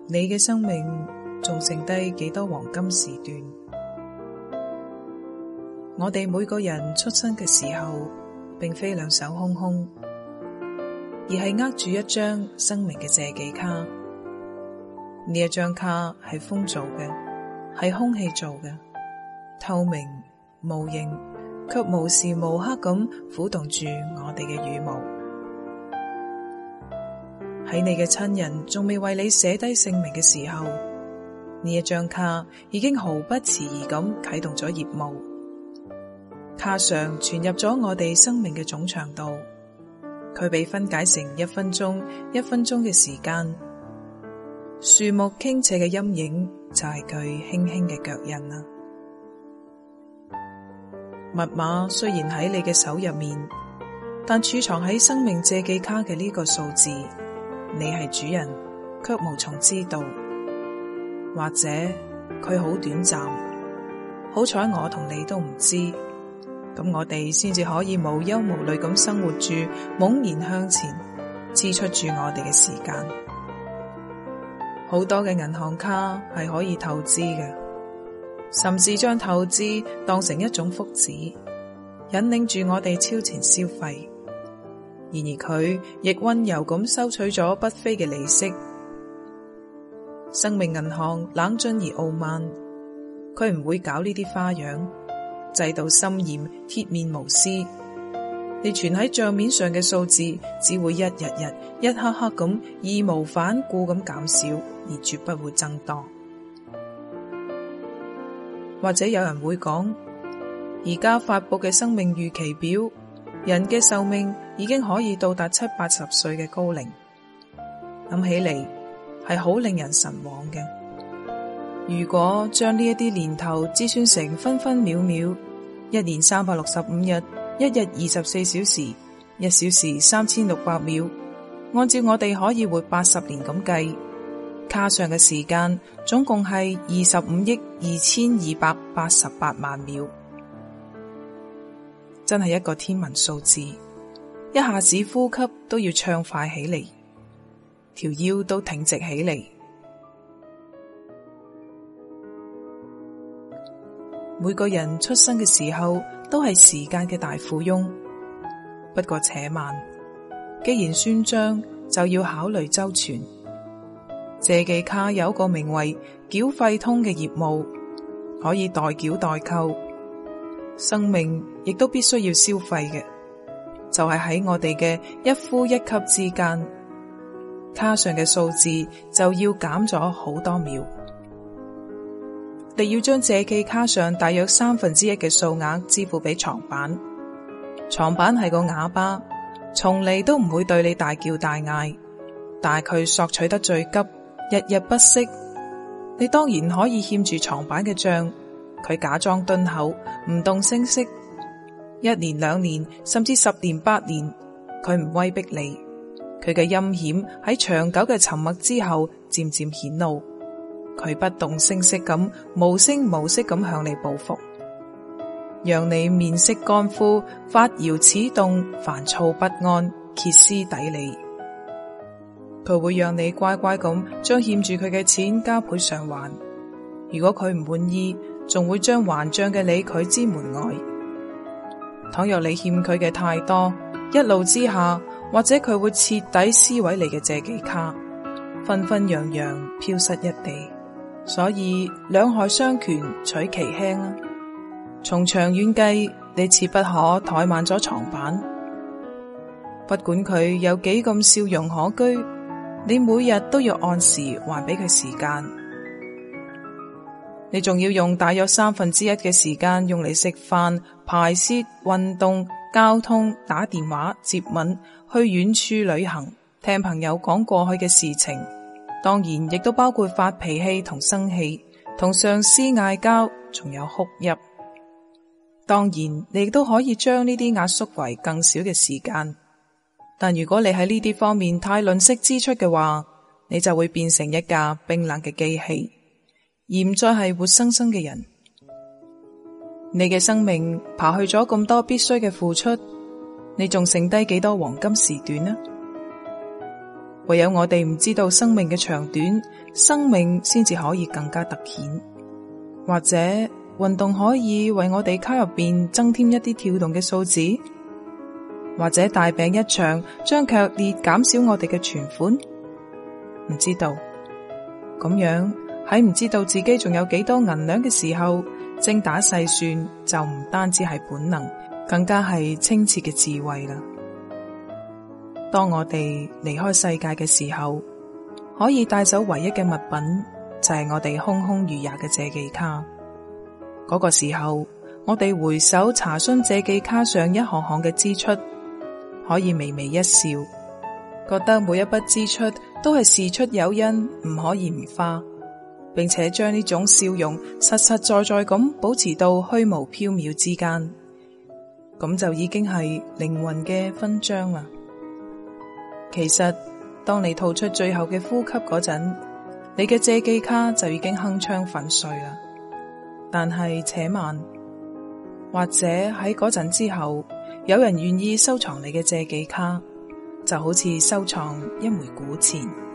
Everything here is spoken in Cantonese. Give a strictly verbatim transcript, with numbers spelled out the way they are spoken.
你嘅生命仲剩低幾多黃金時段？我哋每個人出生嘅時候，並非兩手空空，而係握住一張生命嘅借記卡。呢一張卡係風做嘅，係空氣做嘅，透明無形，卻無時無刻咁撫動住我哋嘅羽毛。喺你嘅親人仲未為你寫低姓名嘅時候，呢一張卡已經毫不遲疑咁啟動咗業務。卡上存入咗我哋生命嘅總長度，佢被分解成一分鐘一分鐘嘅時間。樹木傾斜嘅陰影就係佢輕輕嘅腳印啦。密碼雖然喺你嘅手入面，但儲藏喺生命借記卡嘅呢個數字，你係主人，卻無從知道，或者佢好短暫，好彩我同你都唔知，咁我哋先至可以無憂無慮咁生活住，猛然向前，支出住我哋嘅時間。好多嘅銀行卡係可以透支嘅，甚至將透支當成一種福祉，引領住我哋超前消費。然而佢亦溫柔咁收取咗不菲嘅利息。生命銀行冷峻而傲慢，佢唔會搞呢啲花樣，制度森嚴，鐵面無私。你存喺賬面上嘅數字只會一日日、一刻刻咁義無反顧咁減少，而絕不會增多。或者有人會講，而家發佈嘅生命預期表，人嘅壽命已經可以到達七八十歲嘅高齡，諗起嚟係好令人神往嘅。如果將呢一啲年頭折算成分分秒秒，一年三百六十五日，一日二十四小時，一小時三千六百秒，按照我哋可以活八十年咁計，卡上嘅時間總共係二十五億二千二百八十八萬秒，真係一個天文數字，一下子呼吸都要暢快起嚟，條腰都挺直起嚟。每個人出生嘅時候都係時間嘅大富翁，不過且慢，既然算賬就要考慮周全。借記卡有個名為繳費通嘅業務，可以代繳代扣，生命亦都必須要消費嘅，就係喺我哋嘅一呼一吸之間，卡上嘅數字就要減咗好多秒。你要將借記卡上大約三分之一嘅數額支付俾床板，床板係個啞巴，從嚟都唔會對你大叫大嗌，但係佢索取得最急，日日不息。你當然可以欠住床板嘅賬，佢假裝敦厚，唔動聲色，一年兩年甚至十年八年，佢唔威逼你，佢嘅陰險喺長久嘅沉默之後漸漸顯露。佢不動聲色咁，無聲無息咁向你報復，讓你面色乾枯，發搖此動，煩躁不安，歇斯底里。佢會讓你乖乖咁將欠住佢嘅錢加倍償還，如果佢唔滿意，仲會將還賬嘅你拒之門外。倘若你欠佢嘅太多，一怒之下，或者佢會徹底撕毀你嘅借記卡，紛紛揚揚飄失一地。所以兩害相權取其輕啊！從長遠計，你切不可怠慢咗床板。不管佢有幾咁笑容可掬，你每日都要按時還俾佢時間。你仲要用大約三分之一嘅時間用嚟食飯、排泄、運動、交通、打電話、接吻、去遠處旅行、聽朋友講過去嘅事情。當然亦都包括發脾氣同生氣，同上司嗌交，仲有哭泣。當然你亦都可以將呢啲壓縮為更少嘅時間，但如果你喺呢啲方面太吝嗇支出嘅話，你就會變成一架冰冷嘅機器，而唔再係活生生嘅人。你嘅生命刨去咗咁多必須嘅付出，你仲剩低幾多黃金時段呢？ 唯有我哋唔知道生命嘅長短，生命先至可以更加突顯。或者運動可以為我哋卡入邊增添一啲跳動嘅數字，或者大病一場將劇烈減少我哋嘅存款，唔知道。咁樣喺唔知道自己仲有幾多銀兩嘅時候，精打細算就唔單止係本能，更加係清澈嘅智慧啦。當我哋離開世界嘅時候，可以帶走唯一嘅物品就係我哋空空如也嘅借記卡。嗰個時候，我哋回首查詢借記卡上一項項嘅支出，可以微微一笑，覺得每一筆支出都係事出有因，唔可以唔花，並且將呢種笑容實實在在咁保持到虛無縹緲之間，咁就已經係靈魂嘅勳章啦。其實，當你吐出最後嘅呼吸嗰陣，你嘅借記卡就已經鏗鏘粉碎啦。但係且慢，或者喺嗰陣之後，有人願意收藏你嘅借記卡，就好似收藏一枚古錢。